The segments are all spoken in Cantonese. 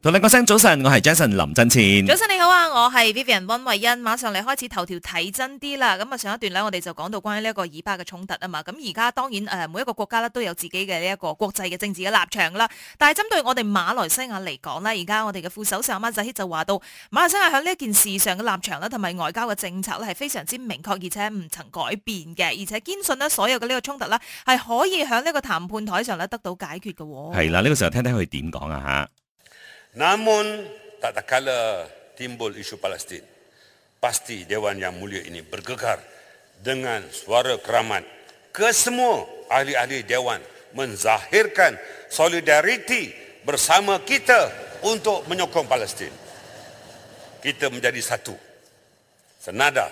同你講聲早晨，我係 Jason 林振前。 早晨你好啊，我係 Vivian 溫慧欣。馬上嚟開始頭條睇真啲啦。咁啊上一段咧，我哋就講到關於呢一個以巴嘅衝突啊嘛。咁而家當然每一個國家咧都有自己嘅呢一個國際嘅政治嘅立場啦。但係針對我哋馬來西亞嚟講咧，而家我哋嘅副首相阿馬扎希就話到，馬來西亞喺呢一件事上嘅立場咧，同埋外交嘅政策咧係非常之明確，而且唔曾改變嘅，而且堅信呢所有嘅呢個衝突咧係可以喺呢個談判台上咧得到解決嘅。 係啦，呢個時候聽聽佢點講啊吓。 Namun tak kala timbul isu Palestin, pasti Dewan Yang Mulia ini bergegar dengan suara keramat ke semua ahli-ahli Dewan menzahirkan solidariti bersama kita untuk menyokong Palestin. Kita menjadi satu, senada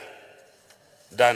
dan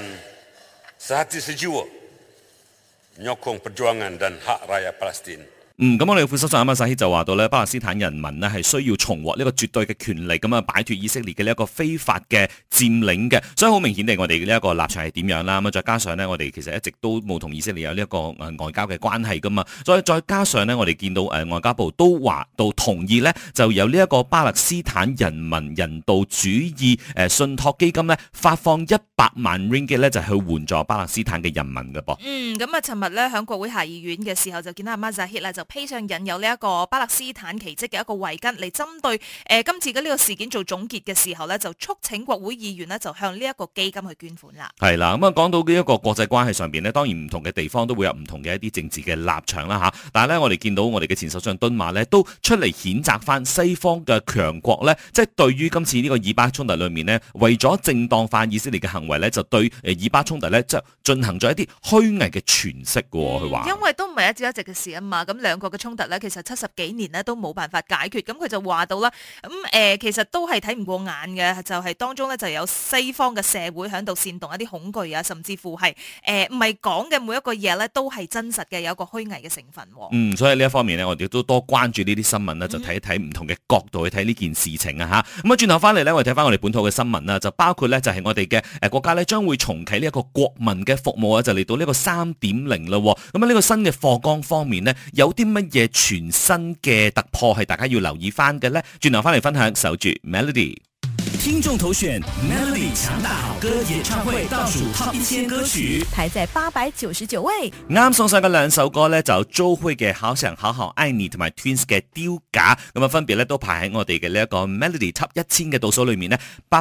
sehati sejiwa menyokong perjuangan dan hak rakyat Palestin. 咁我哋副首相阿馬扎希就話到咧，巴勒斯坦人民呢係需要重獲呢個絕對嘅權利，咁啊擺脫以色列嘅呢一個非法嘅佔領嘅，所以好明顯地我哋呢一個立場係點樣啦。咁再加上呢，我哋其實一直都冇同以色列有呢一個外交嘅關係噶嘛，所以再加上呢，我哋見到外交部都話到同意呢，就有呢一個巴勒斯坦人民人道主義信託基金呢，發放100萬 ringgit 咧就去援助巴勒斯坦嘅人民嘅噃。 咁啊，尋日咧喺國會下議院嘅時候就見到阿馬扎希啦，就披上印有呢一個巴勒斯坦旗幟嘅一個圍巾嚟針對今次嘅呢個事件做總結嘅時候咧，就促請國會議員呢就向呢一個基金去捐款啦。 係啦，咁啊講到呢一個國際關係上邊呢，當然唔同嘅地方都會有唔同嘅一啲政治嘅立場啦嚇。但係咧，我哋見到我哋嘅前首相敦馬呢都出嚟譴責翻西方嘅強國呢，即係對於今次呢個以巴衝突裏面呢，為咗正當化以色列嘅行為呢，就對以巴衝突呢，即係進行咗一啲虛偽嘅詮釋嘅喎。佢話因為都唔係一朝一夕嘅事啊嘛，咁兩國嘅衝突咧，其實70幾年咧都冇辦法解決，咁佢就話到啦，其實都係睇唔過眼嘅，就係當中咧就有西方嘅社會喺度煽動一啲恐懼啊，甚至乎係唔係講嘅每一個嘢咧都係真實嘅，有一個虛偽嘅成分。 所以呢一方面呢，我哋都多關注呢啲新聞啦，就睇一睇唔同嘅角度去睇呢件事情啊嚇。咁啊轉頭翻嚟咧，我哋睇翻我哋本土嘅新聞啦，就包括咧就係我哋嘅國家咧將會重啟呢一個國民嘅服務啊，就嚟到呢個3.0啦。咁啊呢個新嘅課綱方面呢，有啲乜嘢全新嘅突破係大家要留意翻嘅呢？轉頭翻嚟分享，守住 Melody。 聽眾投選 Melody 強大好歌演唱會倒數 Top 1000歌曲， 排在899位。 啱送上嘅兩首歌呢，就周蕙嘅好想好好愛你同埋 Twins 嘅丟架，咁啊分別咧都排喺我哋嘅呢一個 Melody Top 1000嘅倒數裏面呢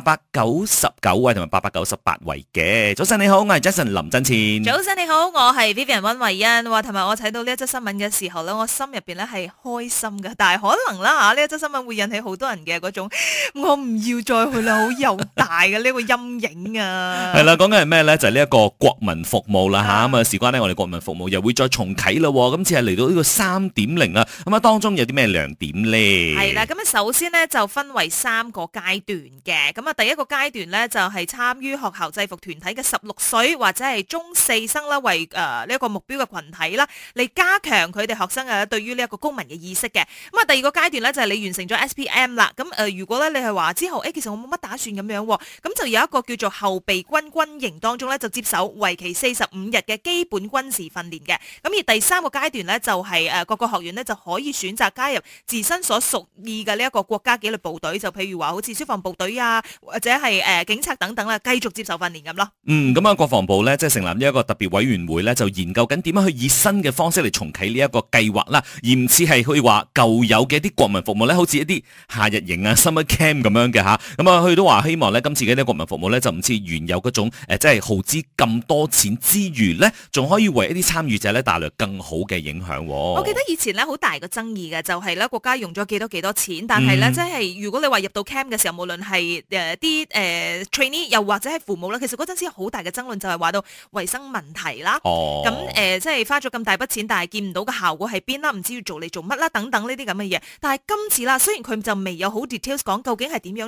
，899位同埋898位嘅。早晨你好，我係 Jason 林振前。 早晨你好，我係 Vivian 溫慧欣。話同埋我睇到呢一則新聞嘅時候咧，我心入邊咧係開心嘅，但係可能啦呢一則新聞會引起好多人嘅嗰種我唔要再去啦，好又大嘅呢個陰影啊！ 係啦，講緊係咩咧？就係呢一個國民服務啦嚇。咁啊，事關呢，我哋國民服務又會再重啟啦。今次係嚟到呢個3.0啊。咁啊，當中有啲咩亮點咧？ 係啦，咁啊，首先呢，就分為3個階段嘅。咁啊，第一個階段咧就係參於學校制服團體嘅16歲或者係中4生啦，為呢一個目標嘅群體啦，嚟加強佢哋學生啊對於呢一個公民嘅意識嘅。咁啊，第二個階段咧就係你完成咗 SPM 啦。咁如果咧你係話之後其實我冇乜打算咁樣，咁就有一個叫做後備軍軍營當中咧，就接受為期45日嘅基本軍事訓練嘅。咁而第3個階段咧，就係各個學院咧就可以選擇加入自身所屬意嘅呢一個國家紀律部隊，就譬如話好似消防部隊啊，或者係警察等等啦，繼續接受訓練咁咯。 咁啊，國防部咧即係成立呢一個特別委員會咧，就研究緊點樣去以新嘅方式嚟重啟呢一個計劃啦，而唔似係去話舊有嘅一啲國民服務咧，好似一啲夏日營啊、summer camp 咁樣嘅嚇。咁啊，佢都話希望咧今次嘅呢個國民服務咧就唔似原有嗰種即係耗資咁多錢之餘咧，仲可以為一啲參與者咧帶來更好嘅影響。 我記得以前咧好大個爭議嘅就係咧國家用咗幾多錢，但係咧即係如果你話入到 camp 嘅時候，無論係啲trainee 又或者係父母啦，其實嗰陣時好大嘅爭論就係話到衛生問題啦。咁即係花咗咁大筆錢，但係見唔到嘅效果喺邊啦，唔知要做嚟做乜啦，等等呢啲咁嘅嘢。但係今次啦，雖然佢就未有好 details 講究竟係點樣進行。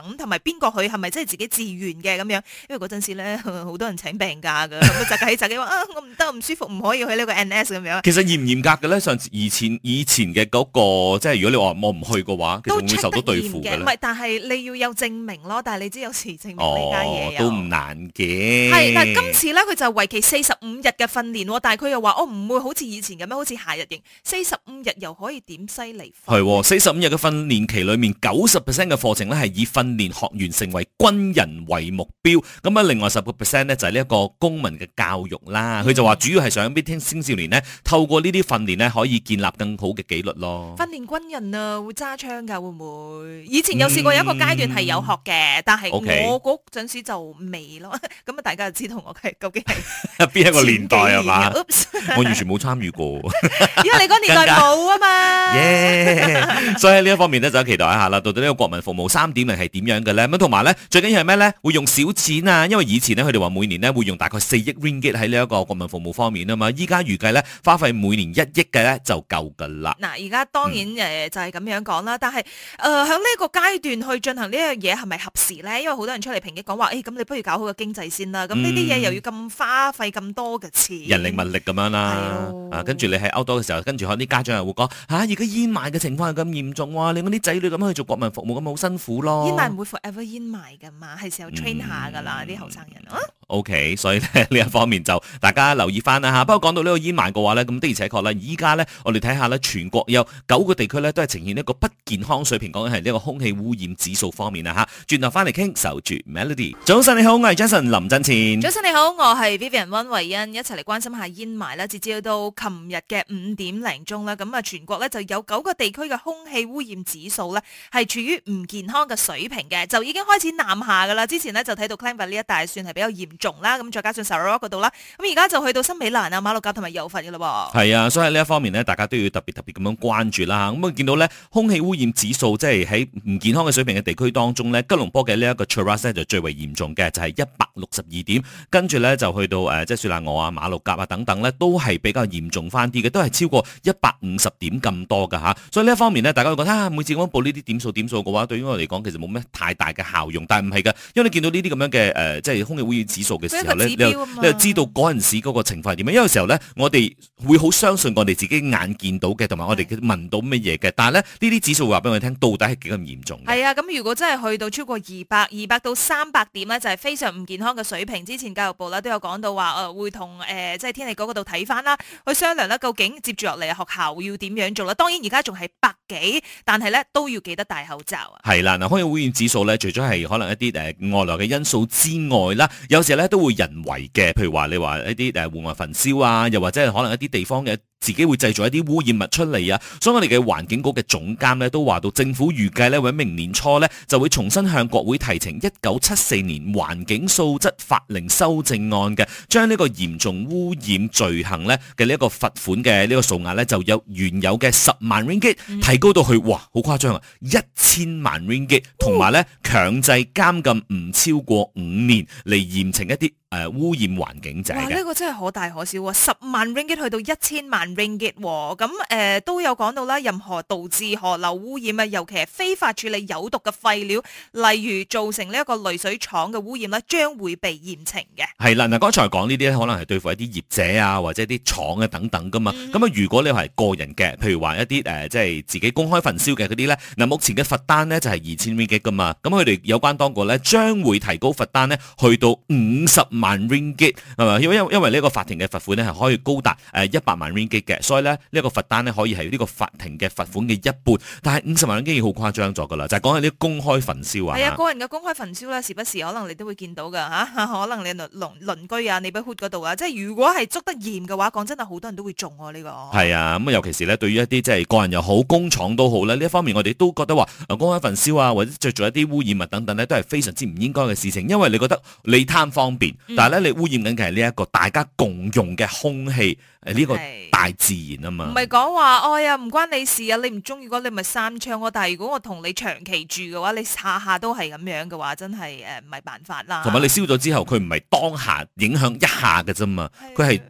等，同埋邊個去係咪真係自己自願嘅咁樣？因為嗰陣時咧好多人請病假㗎，咁就喺自己話我唔得唔舒服唔可以去呢個 NS 咁樣。 其實嚴唔嚴格嘅咧？上次以前嘅嗰個，即係如果你話我唔去嘅話，其實會唔會受到對付嘅咧？ 唔係，但係你要有證明咯。但係你知有時證明呢家嘢都唔難嘅。 係嗱，今次咧佢就為期45日嘅訓練，但係佢又話我唔會好似以前咁樣，好似夏日營45日又可以點犀利？ 係45日嘅訓練期裏面，90% 嘅課程咧係以訓練學員成為軍人為目標。咁啊，另外10% 咧就係呢一個公民嘅教育啦。佢就話主要係想啲青少年呢，透過呢啲訓練呢，可以建立更好嘅紀律咯。 訓練軍人啊，會揸槍㗎會唔會？以前有試過有一個階段係有學嘅，但係我嗰陣時就未咯。咁啊，大家就知道我係究竟係邊一個年代係嘛？我完全冇參與過， 因為你嗰年代冇啊嘛。 所以喺呢一方面咧，就期待一下啦。到底呢個國民服務3.0係點樣嘅咧？咁同埋咧，最緊要係咩咧？會用少錢啊！因為以前咧，佢哋話每年咧會用大概4億 ringgit 喺呢一個國民服務方面啊嘛。依家預計咧花費每年1億嘅咧就夠噶啦。 嗱，而家當然就係咁樣講啦。但係喺呢個階段去進行呢樣嘢係咪合時咧？因為好多人出嚟抨擊講話，咁你不如搞好個經濟先啦。咁呢啲嘢又要咁花費咁多嘅錢， 人力物力咁樣啦。跟住你喺 outdoor 嘅時候，跟住可能啲家長又會講而家煙霾嘅情況係咁嚴重喎，令我啲仔女咁樣去做國民服務咁好辛苦咯。 煙霾唔會 forever 煙霾噶嘛，係時候 train 下噶啦啲後生人啊。 OK， 所以咧呢一方面就大家留意翻啦嚇。不過講到呢個煙霾嘅話咧，咁的而且確咧，依家咧我哋睇下咧，全國有9個地區咧都係呈現一個不健康水平，講緊係呢個空氣污染指數方面啊嚇。轉頭翻嚟傾，守住 Melody。早晨你好，我係 Jason 林振前。 早晨你好，我係 Vivian 溫慧欣，一齊嚟關心下煙霾啦。截至到琴日嘅5點零鐘啦，咁啊全國咧就有9個地區嘅空氣污染指數咧係處於唔健康嘅水平嘅，就已經開始南下噶啦。之前咧就睇到 Klang 呢一帶算係比較嚴重啦，咁再加上 Sarawak 嗰度啦，咁而家就去到新美蘭啊、馬六甲同埋柔佛嘅啦喎。係啊，所以喺呢一方面呢，大家都要特別咁樣關注啦。咁啊見到咧空氣污染指數即係喺唔健康嘅水平嘅地區當中咧，吉隆坡嘅呢一個 Cheras 咧就最為嚴重嘅，就係162點，跟住咧就去到即係雪蘭莪啊、馬六甲啊等等咧，都係比較嚴重翻啲嘅，都係超過150點咁多㗎嚇。所以呢一方面呢，大家會覺得每次咁樣報呢啲點數嘅話，對於我嚟講其實冇咩太大嘅效用，但係唔係㗎，因為你見到呢啲咁樣嘅即係空氣污染指數嘅時候咧，你就知道嗰陣時嗰個情況係點樣。因為有時候咧，我哋會好相信我哋自己眼見到嘅，同埋我哋聞到乜嘢嘅。但係咧，呢啲指數會話俾我哋聽，到底係幾咁嚴重嘅。係啊，咁如果真係去到超過200到300點咧，就係非常唔健康嘅水平。之前教育部咧都有講到話，會同即係天氣局嗰度睇翻啦，去商量啦，究竟接住落嚟學校要點樣做啦。當然而家仲係100幾，但係咧都要記得戴口罩啊。 係啦，嗱，空氣污染指數咧，除咗係可能一啲外來嘅因素之外啦，有時咧都會人為嘅，譬如話你話一啲戶外焚燒啊，又或者係可能一啲地方嘅自己會製造一啲污染物出嚟啊。所以我哋嘅環境局嘅總監咧都話到，政府預計咧喺明年初咧就會重新向國會提呈1974年環境素質法令修正案嘅，將呢個嚴重污染罪行咧嘅呢一個罰款嘅呢個數額咧就由原有嘅10萬 ringgit 提高到去哇好誇張啊1000萬 ringgit， 同埋咧強制監禁唔超過5年嚟嚴懲一啲污染環境者嘅。哇！ 呢個真係可大可小喎，10萬 ringgit 去到1000萬 ringgit 喎。咁都有講到啦，任何導致河流污染啊，尤其係非法處理有毒嘅廢料，例如造成呢一個濾水廠嘅污染咧，將會被嚴懲嘅。 係啦，嗱，剛才講呢啲咧，可能係對付一啲業者啊，或者啲廠啊等等噶嘛。咁如果你係個人嘅，譬如話一啲即係自己公開焚燒嘅嗰啲咧，嗱，目前嘅罰單咧就係2000 ringgit 噶嘛。咁佢哋有關當局咧將會提高罰單咧去到50萬 ringgit 係嘛？因為呢個法庭嘅罰款咧係可以高達100萬 ringgit 嘅，所以咧呢個罰單咧可以係呢個法庭嘅罰款嘅一半。但係50萬 ringgit 已經好誇張咗噶啦，就係講係啲公開焚燒啊。 係啊，個人嘅公開焚燒咧，時不時可能你都會見到噶嚇，可能你鄰居啊、neighborhood 嗰度啊，即係如果係捉得嚴嘅話，講真係好多人都會中喎呢個。 係啊，咁尤其是咧對於一啲即係個人又好、工廠都好咧，呢一方面我哋都覺得話公開焚燒啊，或者製造一啲污染物等等咧，都係非常之唔應該嘅事情，因為你覺得你貪方便，但係咧你污染緊嘅係呢一個大家共用嘅空氣，呢個大自然啊嘛。唔係講話，哎呀唔關你事啊，你唔中意嘅你咪閂窗喎。但係如果我同你長期住嘅話，你下下都係咁樣嘅話，真係唔係辦法啦。 同埋你燒咗之後，佢唔係當下影響一下嘅啫嘛，佢係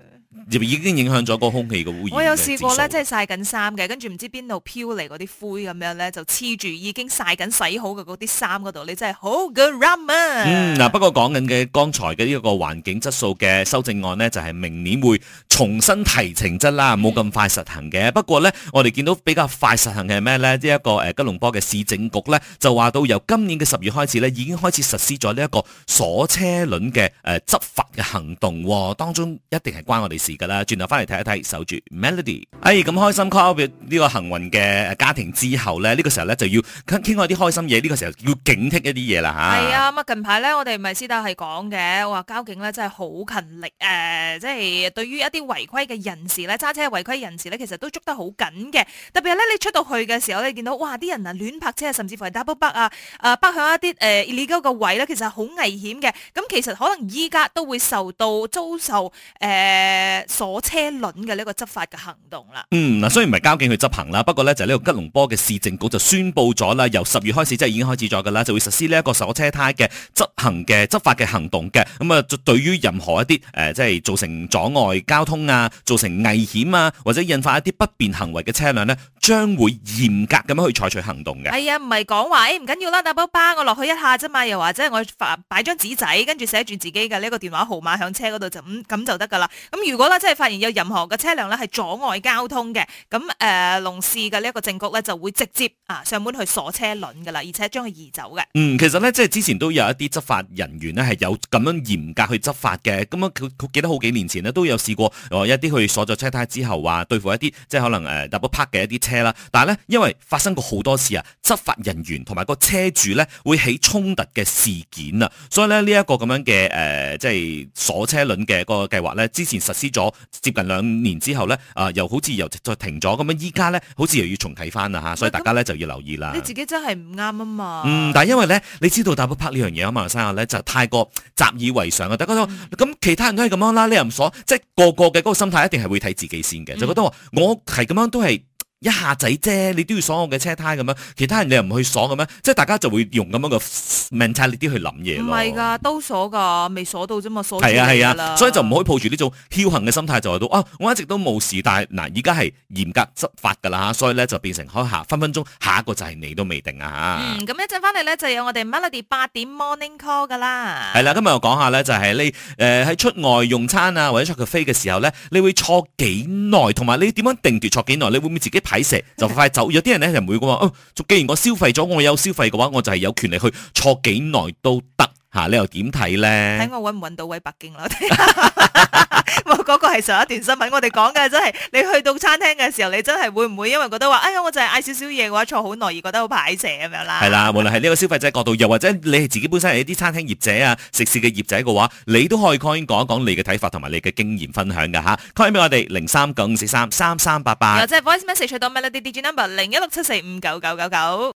已經影響咗個空氣嘅污染。 我有試過咧，即係曬緊衫嘅，跟住唔知邊度飄嚟嗰啲灰咁樣咧，就黐住已經曬緊洗好嘅嗰啲衫嗰度，你真係好 good run 嗱，不過講緊嘅剛才嘅呢一個環境質素嘅修正案呢，就係明年會重新提呈質啦，冇咁快實行嘅。不過呢，我哋見到比較快實行嘅係咩呢？呢一個吉隆坡嘅市政局呢，就話到由今年嘅10月開始呢，已經開始實施咗呢一個鎖車輪嘅執法嘅行動喎，當中一定係關我哋事㗎啦。轉頭翻嚟睇一睇，守住 Melody。咁開心 call 呢個幸運嘅家庭之後呢，呢個時候呢，就要傾開啲開心嘢，呢個時候要警惕一啲嘢啦嚇。 係啊，咁啊近排咧，我哋咪私底係講嘅，話交警咧真係好勤力即係對於一啲違規嘅人士咧，揸車違規人士咧，其實都捉得好緊嘅。特別係咧，你出到去嘅時候，你見到哇啲人啊亂泊車啊，甚至乎係 double park 啊，泊響一啲illegal 嘅位咧，其實好危險嘅。咁其實可能依家都會遭受鎖車輪嘅呢個執法嘅行動啦。 嗱，雖然唔係交警去執行啦，不過咧就呢個吉隆坡嘅市政局就宣布咗啦，由10月開始即係已經開始咗噶啦，就會實施呢一個鎖車胎嘅執法嘅行動嘅。咁啊，對於任何一啲即係造成阻礙交通啊、造成危險啊，或者引發一啲不便行為嘅車輛呢，將會嚴格咁樣去採取行動嘅。 係啊，唔係講話唔緊要啦，打包巴我落去一下啫嘛，又或者我擺張紙仔，跟住寫住自己嘅呢個電話號碼響車嗰度就咁就得噶啦。咁如果咧真係發現有任何嘅車輛咧係阻礙交通嘅，咁龍市嘅呢一個政局咧就會直接上門去鎖車輪噶啦，而且將佢移走嘅。 其實咧即係之前都有一啲執法人員呢係有咁樣嚴格去執法嘅。咁佢記得好幾年前呢都有試過一啲去鎖咗車胎之後話對付一啲即係可能double park 嘅一啲車啦。但係咧因為發生過好多次執法人員同埋個車主咧會起衝突嘅事件啊，所以咧呢一個咁樣嘅即係鎖車輪嘅個計劃咧，之前實施咗接近2年之後咧又好似又再停咗，咁樣依家咧好似又要重啟翻啦嚇，所以大家咧就要留意啦。 你自己真係唔啱啊嘛。 但係因為咧你知道 double park 呢樣嘢馬來西亞咧就太過習以為常啊，大家都咁其他人都係咁樣啦，你又唔鎖，即係個嘅嗰個心態一定係會睇自己先嘅，就覺得話我係咁樣都係一下仔啫，你都要鎖我嘅車胎咁樣，其他人你又唔去鎖咁樣，即係大家就會用咁樣嘅 mentality 去諗嘢咯。 唔係㗎，都鎖㗎，未鎖到啫嘛，鎖住係啊，所以就唔可以抱住呢種僥倖嘅心態，就話到我一直都冇事，但係嗱，而家係嚴格執法㗎啦，所以咧就變成分分鐘下一個就係你都未定啊嚇。 咁一陣翻嚟咧就有我哋 Melody 8點 Morning Call 㗎啦。 係啦，今日我講下咧就係你喺出外用餐啊或者出 cafe 嘅時候咧，你會坐幾耐，同埋你點樣定奪坐幾耐？你會唔會自己睇蛇就快走？有啲人咧就唔會講話，既然我消費咗，我有消費嘅話，我就係有權利去坐幾耐都得嚇。你又點睇咧？ 睇我揾唔揾到位北京啦！嗰個係上一段新聞，我哋講嘅真係你去到餐廳嘅時候，你真係會唔會因為覺得話，哎呀，我就係嗌少少嘢嘅話，坐好耐而覺得好排蛇咁樣啦？係啦，無論係呢個消費者角度，又或者你係自己本身係一啲餐廳業者啊、食肆嘅業者嘅話，你都可以 call in 講一講你嘅睇法同埋你嘅經驗分享㗎嚇。call in 俾我哋0395433388， 或者 voice message 去到 Melody DJ number 0167459999。